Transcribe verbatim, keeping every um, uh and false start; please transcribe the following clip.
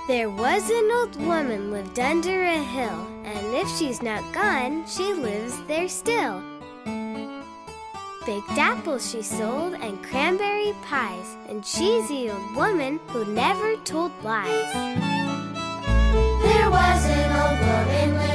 There was an old woman lived under a hill, and if she's not gone, she lives there still. Baked apples she sold and cranberry pies, and she's the old woman who never told lies. There was an old woman living